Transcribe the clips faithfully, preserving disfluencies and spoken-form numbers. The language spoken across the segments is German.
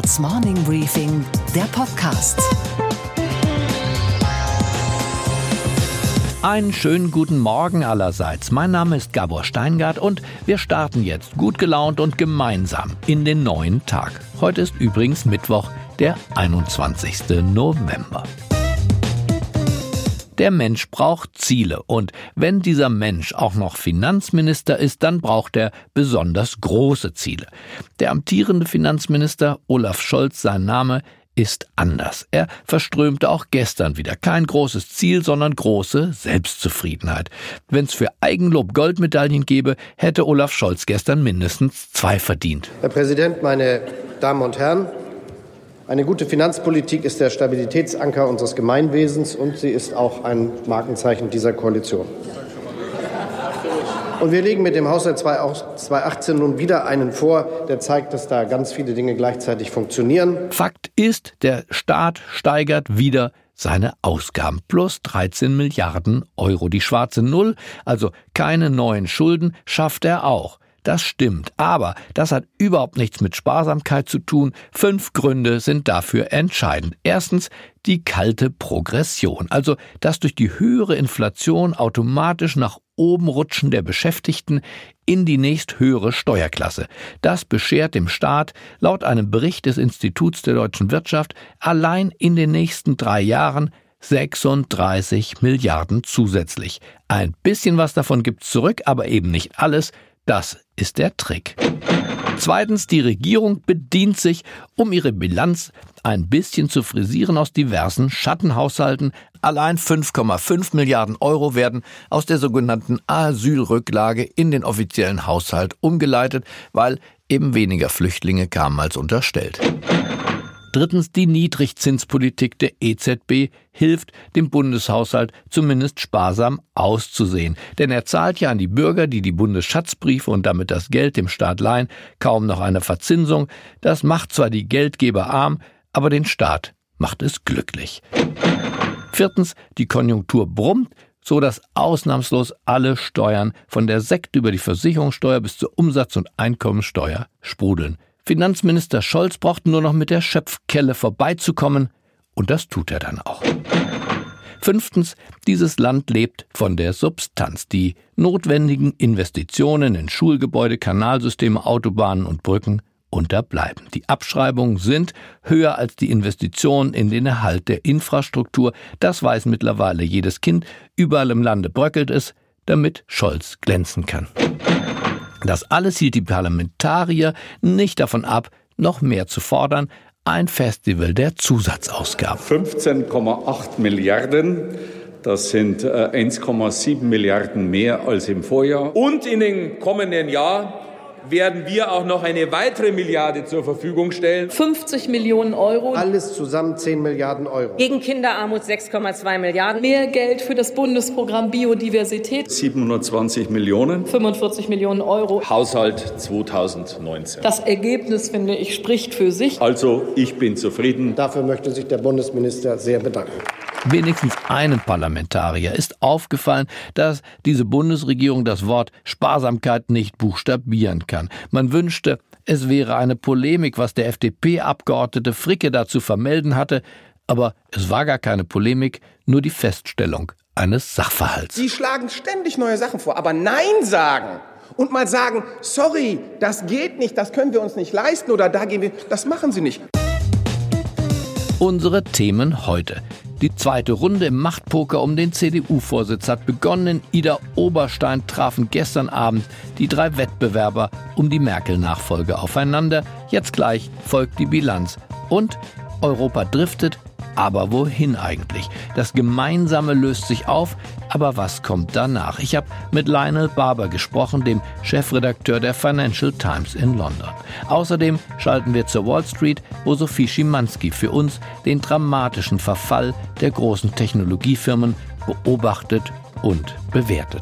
Handelsblatts Morning Briefing, der Podcast. Einen schönen guten Morgen allerseits. Mein Name ist Gabor Steingart und wir starten jetzt gut gelaunt und gemeinsam in den neuen Tag. Heute ist übrigens Mittwoch, der einundzwanzigsten November. Der Mensch braucht Ziele und wenn dieser Mensch auch noch Finanzminister ist, dann braucht er besonders große Ziele. Der amtierende Finanzminister Olaf Scholz, sein Name, ist anders. Er verströmte auch gestern wieder kein großes Ziel, sondern große Selbstzufriedenheit. Wenn es für Eigenlob Goldmedaillen gäbe, hätte Olaf Scholz gestern mindestens zwei verdient. Herr Präsident, meine Damen und Herren! Eine gute Finanzpolitik ist der Stabilitätsanker unseres Gemeinwesens und sie ist auch ein Markenzeichen dieser Koalition. Und wir legen mit dem Haushalt zweitausendachtzehn nun wieder einen vor, der zeigt, dass da ganz viele Dinge gleichzeitig funktionieren. Fakt ist, der Staat steigert wieder seine Ausgaben. Plus dreizehn Milliarden Euro. Die schwarze Null, also keine neuen Schulden, schafft er auch. Das stimmt, aber das hat überhaupt nichts mit Sparsamkeit zu tun. Fünf Gründe sind dafür entscheidend. Erstens die kalte Progression, also das durch die höhere Inflation automatisch nach oben rutschen der Beschäftigten in die nächsthöhere Steuerklasse. Das beschert dem Staat laut einem Bericht des Instituts der deutschen Wirtschaft allein in den nächsten drei Jahren sechsunddreißig Milliarden zusätzlich. Ein bisschen was davon gibt's zurück, aber eben nicht alles. Das ist der Trick. Zweitens, die Regierung bedient sich, um ihre Bilanz ein bisschen zu frisieren, aus diversen Schattenhaushalten. Allein fünf Komma fünf Milliarden Euro werden aus der sogenannten Asylrücklage in den offiziellen Haushalt umgeleitet, weil eben weniger Flüchtlinge kamen als unterstellt. Drittens, die Niedrigzinspolitik der E Z B hilft dem Bundeshaushalt zumindest sparsam auszusehen. Denn er zahlt ja an die Bürger, die die Bundesschatzbriefe und damit das Geld dem Staat leihen, kaum noch eine Verzinsung. Das macht zwar die Geldgeber arm, aber den Staat macht es glücklich. Viertens, die Konjunktur brummt, so dass ausnahmslos alle Steuern von der Sekt über die Versicherungssteuer bis zur Umsatz- und Einkommensteuer sprudeln. Finanzminister Scholz braucht nur noch mit der Schöpfkelle vorbeizukommen und das tut er dann auch. Fünftens, dieses Land lebt von der Substanz. Die notwendigen Investitionen in Schulgebäude, Kanalsysteme, Autobahnen und Brücken unterbleiben. Die Abschreibungen sind höher als die Investitionen in den Erhalt der Infrastruktur. Das weiß mittlerweile jedes Kind. Überall im Lande bröckelt es, damit Scholz glänzen kann. Das alles hielt die Parlamentarier nicht davon ab, noch mehr zu fordern. Ein Festival der Zusatzausgaben. fünfzehn Komma acht Milliarden, das sind äh, eins Komma sieben Milliarden mehr als im Vorjahr. Und in den kommenden Jahr werden wir auch noch eine weitere Milliarde zur Verfügung stellen. fünfzig Millionen Euro. Alles zusammen zehn Milliarden Euro. Gegen Kinderarmut sechs Komma zwei Milliarden. Mehr Geld für das Bundesprogramm Biodiversität. siebenhundertzwanzig Millionen. fünfundvierzig Millionen Euro. Haushalt zweitausendneunzehn. Das Ergebnis, finde ich, spricht für sich. Also, ich bin zufrieden. Dafür möchte sich der Bundesminister sehr bedanken. Wenigstens einem Parlamentarier ist aufgefallen, dass diese Bundesregierung das Wort Sparsamkeit nicht buchstabieren kann. Man wünschte, es wäre eine Polemik, was der F D P-Abgeordnete Fricke dazu vermelden hatte, aber es war gar keine Polemik, nur die Feststellung eines Sachverhalts. Sie schlagen ständig neue Sachen vor, aber Nein sagen und mal sagen, sorry, das geht nicht, das können wir uns nicht leisten oder da gehen wir, das machen Sie nicht. Unsere Themen heute. Die zweite Runde im Machtpoker um den C D U-Vorsitz hat begonnen. In Ida Oberstein trafen gestern Abend die drei Wettbewerber um die Merkel-Nachfolge aufeinander. Jetzt gleich folgt die Bilanz. Und Europa driftet, aber wohin eigentlich? Das Gemeinsame löst sich auf, aber was kommt danach? Ich habe mit Lionel Barber gesprochen, dem Chefredakteur der Financial Times in London. Außerdem schalten wir zur Wall Street, wo Sophie Schimanski für uns den dramatischen Verfall der großen Technologiefirmen beobachtet und bewertet.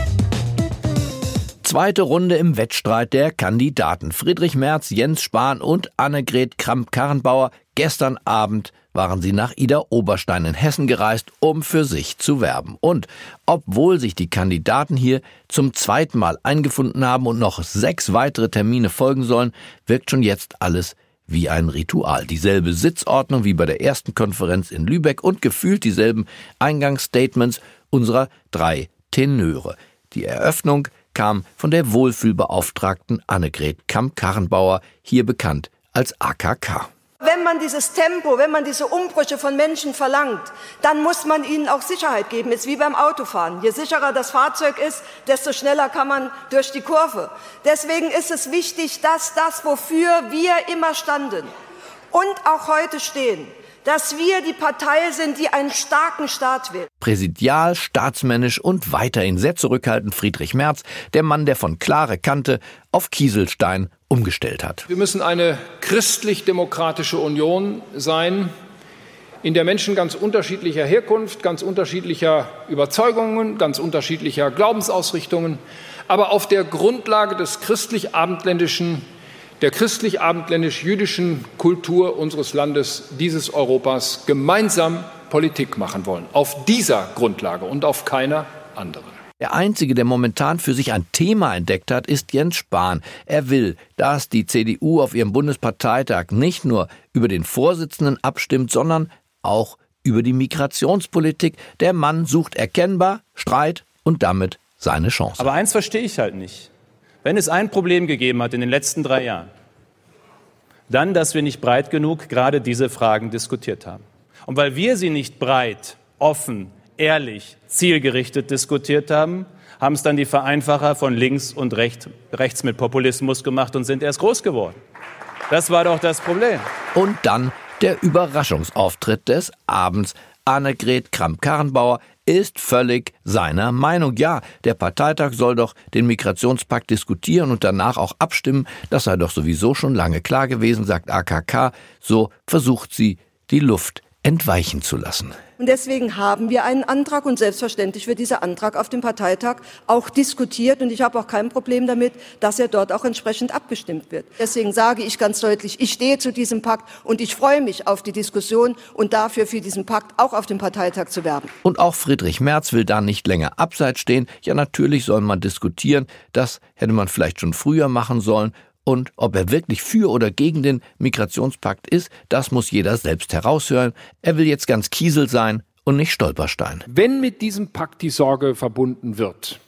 Zweite Runde im Wettstreit der Kandidaten. Friedrich Merz, Jens Spahn und Annegret Kramp-Karrenbauer. Gestern Abend waren sie nach Ida Oberstein in Hessen gereist, um für sich zu werben. Und obwohl sich die Kandidaten hier zum zweiten Mal eingefunden haben und noch sechs weitere Termine folgen sollen, wirkt schon jetzt alles wie ein Ritual. Dieselbe Sitzordnung wie bei der ersten Konferenz in Lübeck und gefühlt dieselben Eingangsstatements unserer drei Tenöre. Die Eröffnung kam von der Wohlfühlbeauftragten Annegret Kramp-Karrenbauer, hier bekannt als A K K. Wenn man dieses Tempo, wenn man diese Umbrüche von Menschen verlangt, dann muss man ihnen auch Sicherheit geben. Es ist wie beim Autofahren. Je sicherer das Fahrzeug ist, desto schneller kann man durch die Kurve. Deswegen ist es wichtig, dass das, wofür wir immer standen und auch heute stehen, dass wir die Partei sind, die einen starken Staat will. Präsidial, staatsmännisch und weiterhin sehr zurückhaltend Friedrich Merz, der Mann, der von klare Kante auf Kieselstein umgestellt hat. Wir müssen eine christlich-demokratische Union sein, in der Menschen ganz unterschiedlicher Herkunft, ganz unterschiedlicher Überzeugungen, ganz unterschiedlicher Glaubensausrichtungen, aber auf der Grundlage des christlich-abendländischen der christlich-abendländisch-jüdischen Kultur unseres Landes, dieses Europas, gemeinsam Politik machen wollen. Auf dieser Grundlage und auf keiner anderen. Der Einzige, der momentan für sich ein Thema entdeckt hat, ist Jens Spahn. Er will, dass die C D U auf ihrem Bundesparteitag nicht nur über den Vorsitzenden abstimmt, sondern auch über die Migrationspolitik. Der Mann sucht erkennbar Streit und damit seine Chance. Aber eins verstehe ich halt nicht. Wenn es ein Problem gegeben hat in den letzten drei Jahren, dann, dass wir nicht breit genug gerade diese Fragen diskutiert haben. Und weil wir sie nicht breit, offen, ehrlich, zielgerichtet diskutiert haben, haben es dann die Vereinfacher von links und rechts, rechts mit Populismus gemacht und sind erst groß geworden. Das war doch das Problem. Und dann der Überraschungsauftritt des Abends. Annegret Kramp-Karrenbauer ist völlig seiner Meinung. Ja, der Parteitag soll doch den Migrationspakt diskutieren und danach auch abstimmen. Das sei doch sowieso schon lange klar gewesen, sagt A K K. So versucht sie, die Luft entweichen zu lassen. Und deswegen haben wir einen Antrag und selbstverständlich wird dieser Antrag auf dem Parteitag auch diskutiert und ich habe auch kein Problem damit, dass er dort auch entsprechend abgestimmt wird. Deswegen sage ich ganz deutlich, ich stehe zu diesem Pakt und ich freue mich auf die Diskussion und dafür für diesen Pakt auch auf dem Parteitag zu werben. Und auch Friedrich Merz will da nicht länger abseits stehen. Ja, natürlich soll man diskutieren. Das hätte man vielleicht schon früher machen sollen. Und ob er wirklich für oder gegen den Migrationspakt ist, das muss jeder selbst heraushören. Er will jetzt ganz Kiesel sein und nicht Stolperstein. Wenn mit diesem Pakt die Sorge verbunden wird,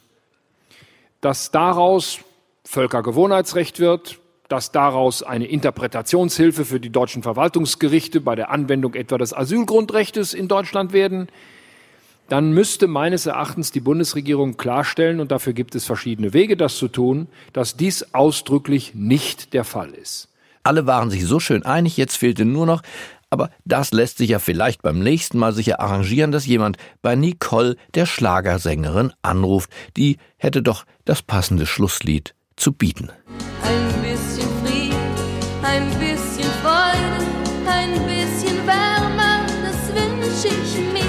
dass daraus Völkergewohnheitsrecht wird, dass daraus eine Interpretationshilfe für die deutschen Verwaltungsgerichte bei der Anwendung etwa des Asylgrundrechtes in Deutschland werden, dann müsste meines Erachtens die Bundesregierung klarstellen, und dafür gibt es verschiedene Wege, das zu tun, dass dies ausdrücklich nicht der Fall ist. Alle waren sich so schön einig, jetzt fehlte nur noch, aber das lässt sich ja vielleicht beim nächsten Mal sicher arrangieren, dass jemand bei Nicole, der Schlagersängerin, anruft. Die hätte doch das passende Schlusslied zu bieten. Ein bisschen Frieden, ein bisschen Freude, ein bisschen Wärme, das wünsche ich mir.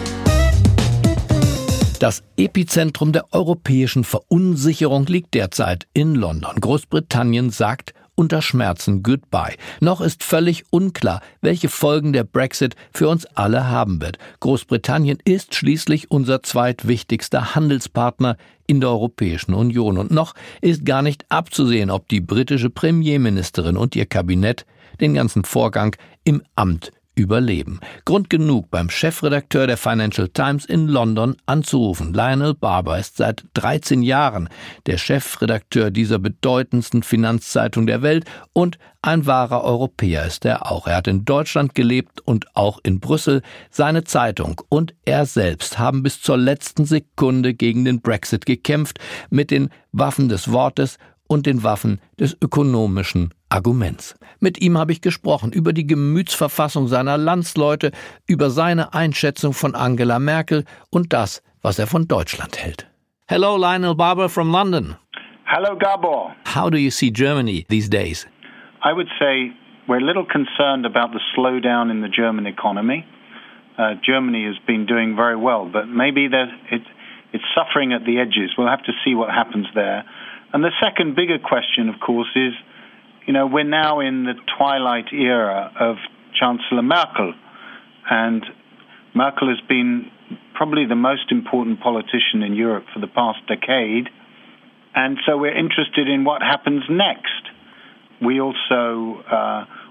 Das Epizentrum der europäischen Verunsicherung liegt derzeit in London. Großbritannien sagt unter Schmerzen Goodbye. Noch ist völlig unklar, welche Folgen der Brexit für uns alle haben wird. Großbritannien ist schließlich unser zweitwichtigster Handelspartner in der Europäischen Union. Und noch ist gar nicht abzusehen, ob die britische Premierministerin und ihr Kabinett den ganzen Vorgang im Amt überleben. Grund genug, beim Chefredakteur der Financial Times in London anzurufen. Lionel Barber ist seit dreizehn Jahren der Chefredakteur dieser bedeutendsten Finanzzeitung der Welt und ein wahrer Europäer ist er auch. Er hat in Deutschland gelebt und auch in Brüssel. Seine Zeitung und er selbst haben bis zur letzten Sekunde gegen den Brexit gekämpft, mit den Waffen des Wortes und den Waffen des ökonomischen Arguments. Mit ihm habe ich gesprochen über die Gemütsverfassung seiner Landsleute, über seine Einschätzung von Angela Merkel und das, was er von Deutschland hält. Hello, Lionel Barber from London. Hello, Gabor. How do you see Germany these days? I would say we're a little concerned about the slowdown in the German economy. Uh, Germany has been doing very well, but maybe it, it's suffering at the edges. We'll have to see what happens there. And the second bigger question, of course, is, you know, we're now in the twilight era of Chancellor Merkel. And Merkel has been probably the most important politician in Europe for the past decade. And so we're interested in what happens next. We also uh,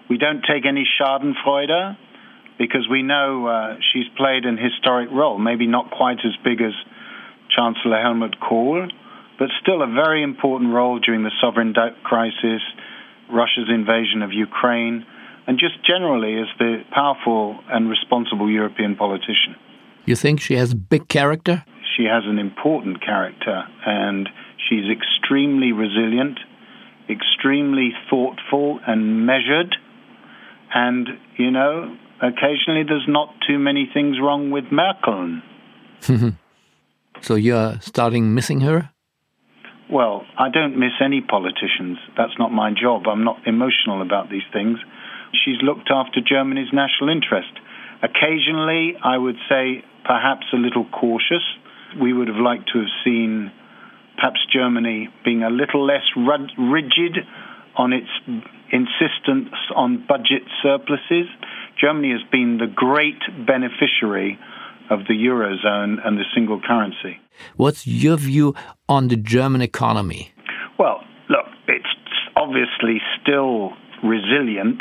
We don't take any schadenfreude because we know uh, she's played an historic role, maybe not quite as big as Chancellor Helmut Kohl, but still a very important role during the sovereign debt crisis, Russia's invasion of Ukraine, and just generally as the powerful and responsible European politician. You think she has big character? She has an important character, and she's extremely resilient, extremely thoughtful and measured, and, you know, occasionally there's not too many things wrong with Merkel. So you're starting missing her? Well, I don't miss any politicians. That's not my job. I'm not emotional about these things. She's looked after Germany's national interest. Occasionally, I would say perhaps a little cautious. We would have liked to have seen perhaps Germany being a little less rigid on its insistence on budget surpluses. Germany has been the great beneficiary of the Eurozone and the single currency. What's your view on the German economy? Well, look, it's obviously still resilient,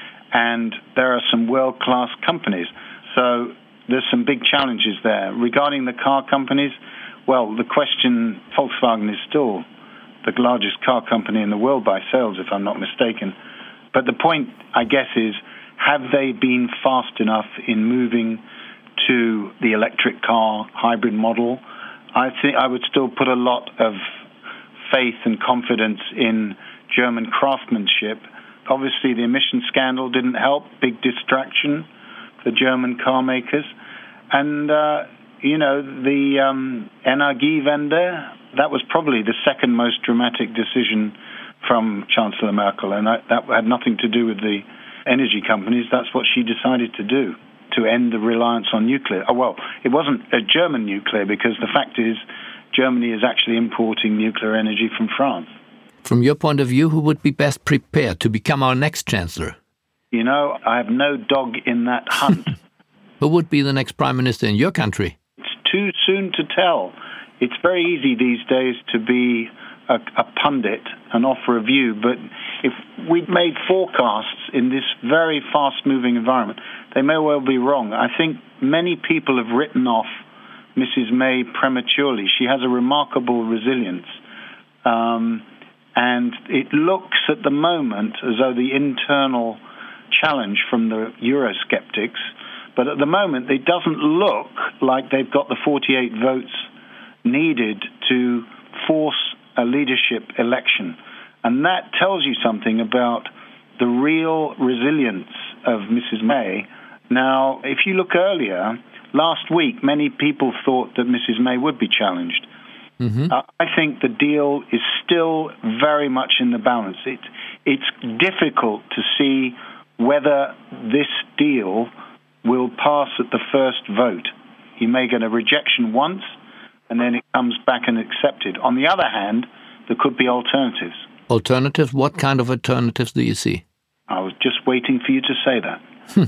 and there are some world-class companies. So there's some big challenges there. Regarding the car companies, well, the question, Volkswagen is still the largest car company in the world by sales, if I'm not mistaken. But the point, I guess, is have they been fast enough in moving to the electric car hybrid model? I think I would still put a lot of faith and confidence in German craftsmanship. Obviously, the emission scandal didn't help, big distraction for German car makers. And, uh, you know, the um, Energiewende, that was probably the second most dramatic decision from Chancellor Merkel, and I, that had nothing to do with the energy companies. That's what she decided to do, to end the reliance on nuclear. Oh, well, it wasn't a German nuclear, because the fact is Germany is actually importing nuclear energy from France. From your point of view, who would be best prepared to become our next chancellor? You know, I have no dog in that hunt. Who would be the next prime minister in your country? It's too soon to tell. It's very easy these days to be a, a pundit and offer a view, but if we'd made forecasts in this very fast-moving environment, they may well be wrong. I think many people have written off Missus May prematurely. She has a remarkable resilience. Um, and it looks at the moment as though the internal challenge from the Eurosceptics, but at the moment it doesn't look like they've got the forty-eight votes needed to force a leadership election. And that tells you something about the real resilience of Missus May. Now, if you look earlier, last week, many people thought that Missus May would be challenged. Mm-hmm. Uh, I think the deal is still very much in the balance. It, it's difficult to see whether this deal will pass at the first vote. You may get a rejection once, and then it comes back and accepted. On the other hand, there could be alternatives. Alternatives? What kind of alternatives do you see? I was just waiting for you to say that.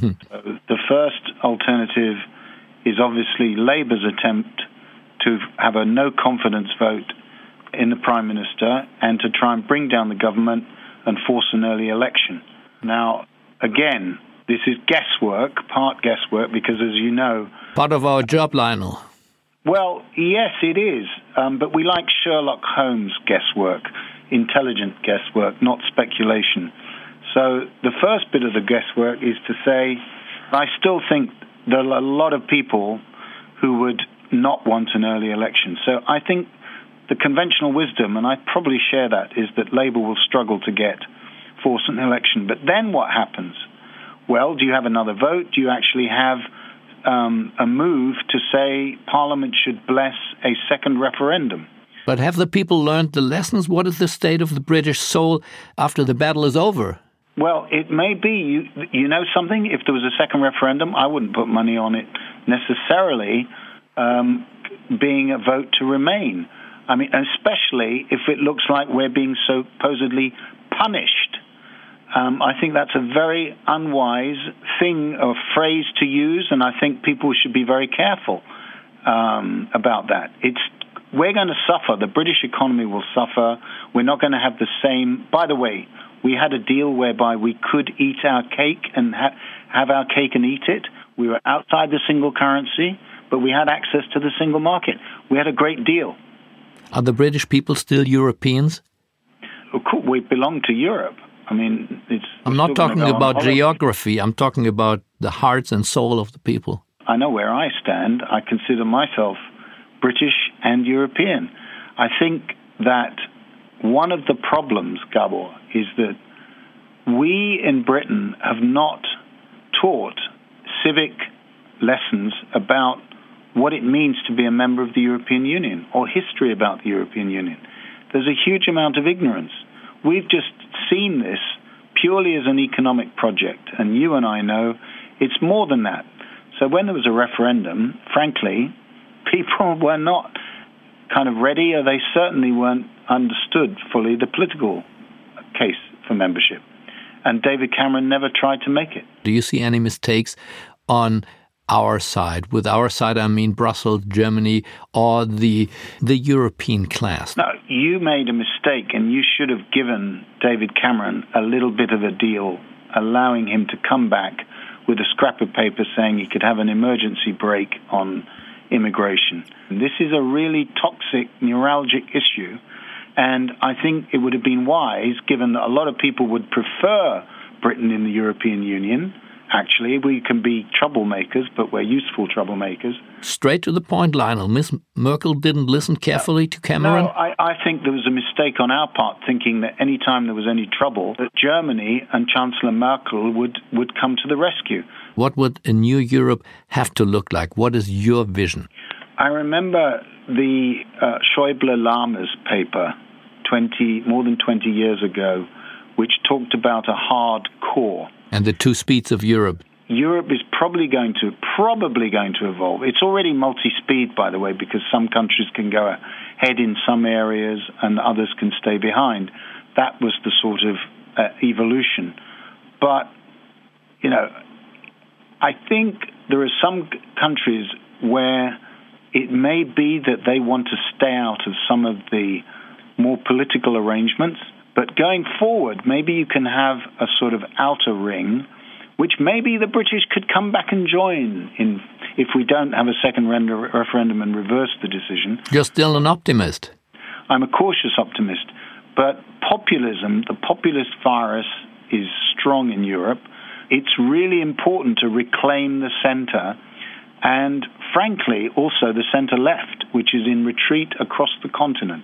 So the first alternative is obviously Labour's attempt to have a no-confidence vote in the Prime Minister and to try and bring down the government and force an early election. Now, again, this is guesswork, part guesswork, because as you know... Part of our job, Lionel. Well, yes, it is. Um, but we like Sherlock Holmes guesswork, intelligent guesswork, not speculation. So the first bit of the guesswork is to say, I still think there are a lot of people who would not want an early election. So I think the conventional wisdom, and I probably share that, is that Labour will struggle to get force an election. But then what happens? Well, do you have another vote? Do you actually have um, a move to say Parliament should bless a second referendum? But have the people learned the lessons? What is the state of the British soul after the battle is over? Well, it may be. You, you know something? If there was a second referendum, I wouldn't put money on it necessarily um, being a vote to remain. I mean, especially if it looks like we're being supposedly punished. Um, I think that's a very unwise thing or phrase to use, and I think people should be very careful um, about that. It's we're going to suffer. The British economy will suffer. We're not going to have the same. By the way, We had a deal whereby we could eat our cake and ha- have our cake and eat it. We were outside the single currency, but we had access to the single market. We had a great deal. Are the British people still Europeans? Of course, we belong to Europe. I mean, it's... I'm not talking about geography. I'm talking about the hearts and soul of the people. I know where I stand. I consider myself British and European. I think that one of the problems, Gabor, is that we in Britain have not taught civic lessons about what it means to be a member of the European Union or history about the European Union. There's a huge amount of ignorance. We've just seen this purely as an economic project, and you and I know it's more than that. So when there was a referendum, frankly, people were not kind of ready, or they certainly weren't understood fully the political case for membership. And David Cameron never tried to make it. Do you see any mistakes on our side? With our side, I mean Brussels, Germany, or the the European class? No, you made a mistake, and you should have given David Cameron a little bit of a deal, allowing him to come back with a scrap of paper saying he could have an emergency break on immigration. This is a really toxic, neuralgic issue, and I think it would have been wise, given that a lot of people would prefer Britain in the European Union. Actually, we can be troublemakers, but we're useful troublemakers. Straight to the point, Lionel. Miss Merkel didn't listen carefully to Cameron? No, I, I think there was a mistake on our part, thinking that any time there was any trouble, that Germany and Chancellor Merkel would, would come to the rescue. What would a new Europe have to look like? What is your vision? I remember the uh, Schäuble-Lammers paper twenty more than twenty years ago, which talked about a hard core. And the two speeds of Europe. Europe is probably going to probably going to evolve. It's already multi-speed, by the way, because some countries can go ahead in some areas and others can stay behind. That was the sort of uh, evolution. But, you know, I think there are some countries where it may be that they want to stay out of some of the more political arrangements. But going forward, maybe you can have a sort of outer ring, which maybe the British could come back and join in if we don't have a second render- referendum and reverse the decision. You're still an optimist. I'm a cautious optimist. But populism, the populist virus, is strong in Europe. It's really important to reclaim the centre and, frankly, also the centre-left, which is in retreat across the continent.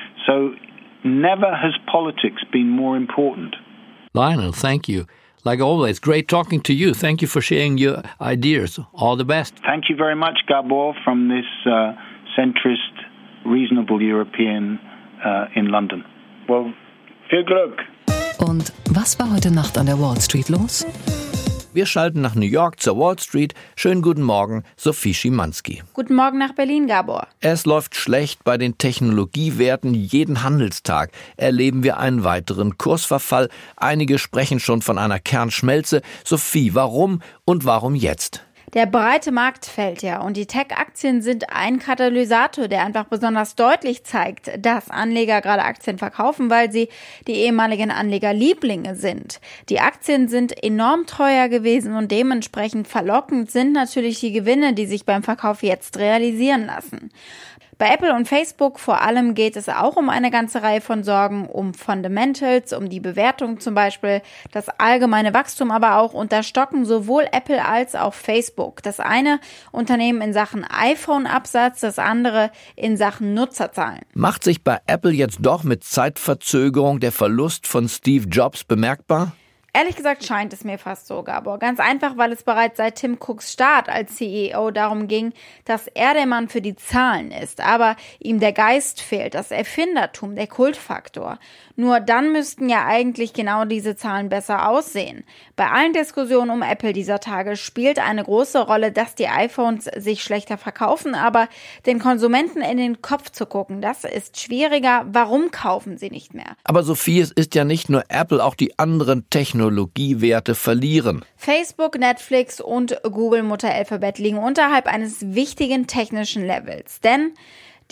So never has politics been more important. Lionel, thank you. Like always, great talking to you. Thank you for sharing your ideas. All the best. Thank you very much, Gabor, from this uh, centrist, reasonable European uh, in London. Well, viel Glück. Und was war heute Nacht an der Wall Street los? Wir schalten nach New York zur Wall Street. Schönen guten Morgen, Sophie Schimanski. Guten Morgen nach Berlin, Gabor. Es läuft schlecht bei den Technologiewerten. Jeden Handelstag erleben wir einen weiteren Kursverfall. Einige sprechen schon von einer Kernschmelze. Sophie, warum und warum jetzt? Der breite Markt fällt ja und die Tech-Aktien sind ein Katalysator, der einfach besonders deutlich zeigt, dass Anleger gerade Aktien verkaufen, weil sie die ehemaligen Anlegerlieblinge sind. Die Aktien sind enorm teuer gewesen und dementsprechend verlockend sind natürlich die Gewinne, die sich beim Verkauf jetzt realisieren lassen. Bei Apple und Facebook vor allem geht es auch um eine ganze Reihe von Sorgen, um Fundamentals, um die Bewertung zum Beispiel, das allgemeine Wachstum aber auch und da stocken sowohl Apple als auch Facebook. Das eine Unternehmen in Sachen iPhone-Absatz, das andere in Sachen Nutzerzahlen. Macht sich bei Apple jetzt doch mit Zeitverzögerung der Verlust von Steve Jobs bemerkbar? Ehrlich gesagt scheint es mir fast so, Gabor. Ganz einfach, weil es bereits seit Tim Cooks Start als C E O darum ging, dass er der Mann für die Zahlen ist. Aber ihm der Geist fehlt, das Erfindertum, der Kultfaktor. Nur dann müssten ja eigentlich genau diese Zahlen besser aussehen. Bei allen Diskussionen um Apple dieser Tage spielt eine große Rolle, dass die iPhones sich schlechter verkaufen. Aber den Konsumenten in den Kopf zu gucken, das ist schwieriger. Warum kaufen sie nicht mehr? Aber Sophie, es ist ja nicht nur Apple, auch die anderen Technologien. Technologiewerte verlieren. Facebook, Netflix und Google Mutter Alphabet liegen unterhalb eines wichtigen technischen Levels. Denn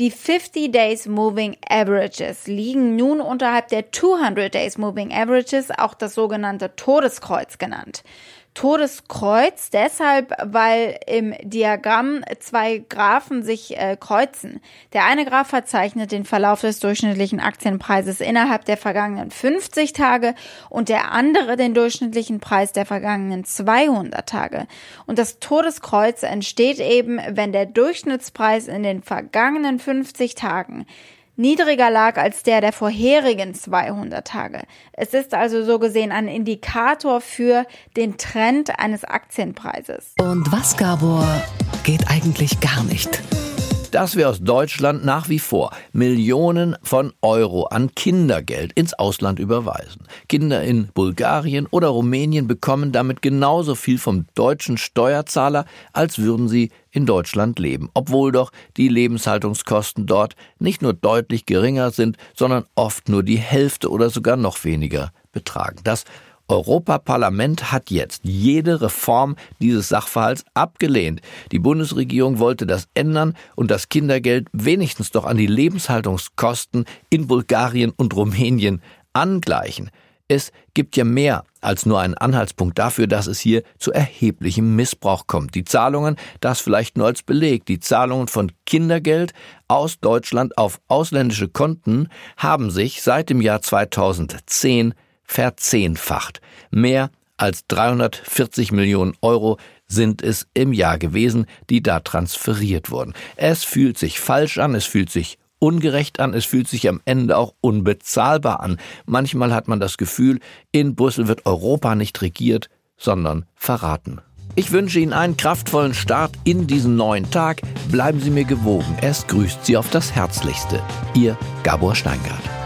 Die fifty Days Moving Averages liegen nun unterhalb der two hundred Days Moving Averages, auch das sogenannte Todeskreuz genannt. Todeskreuz deshalb, weil im Diagramm zwei Graphen sich äh, kreuzen. Der eine Graph verzeichnet den Verlauf des durchschnittlichen Aktienpreises innerhalb der vergangenen fünfzig Tage und der andere den durchschnittlichen Preis der vergangenen zweihundert Tage. Und das Todeskreuz entsteht eben, wenn der Durchschnittspreis in den vergangenen fünfzig Tagen niedriger lag als der der vorherigen zweihundert Tage. Es ist also so gesehen ein Indikator für den Trend eines Aktienpreises. Und was, Gabor, geht eigentlich gar nicht? Dass wir aus Deutschland nach wie vor Millionen von Euro an Kindergeld ins Ausland überweisen. Kinder in Bulgarien oder Rumänien bekommen damit genauso viel vom deutschen Steuerzahler, als würden sie in Deutschland leben. Obwohl doch die Lebenshaltungskosten dort nicht nur deutlich geringer sind, sondern oft nur die Hälfte oder sogar noch weniger betragen. Das Europaparlament hat jetzt jede Reform dieses Sachverhalts abgelehnt. Die Bundesregierung wollte das ändern und das Kindergeld wenigstens doch an die Lebenshaltungskosten in Bulgarien und Rumänien angleichen. Es gibt ja mehr als nur einen Anhaltspunkt dafür, dass es hier zu erheblichem Missbrauch kommt. Die Zahlungen, das vielleicht nur als Beleg, die Zahlungen von Kindergeld aus Deutschland auf ausländische Konten haben sich seit dem Jahr zweitausendzehn verzehnfacht. Mehr als dreihundertvierzig Millionen Euro sind es im Jahr gewesen, die da transferiert wurden. Es fühlt sich falsch an, es fühlt sich ungerecht an, es fühlt sich am Ende auch unbezahlbar an. Manchmal hat man das Gefühl, in Brüssel wird Europa nicht regiert, sondern verraten. Ich wünsche Ihnen einen kraftvollen Start in diesen neuen Tag. Bleiben Sie mir gewogen. Es grüßt Sie auf das Herzlichste. Ihr Gabor Steingart.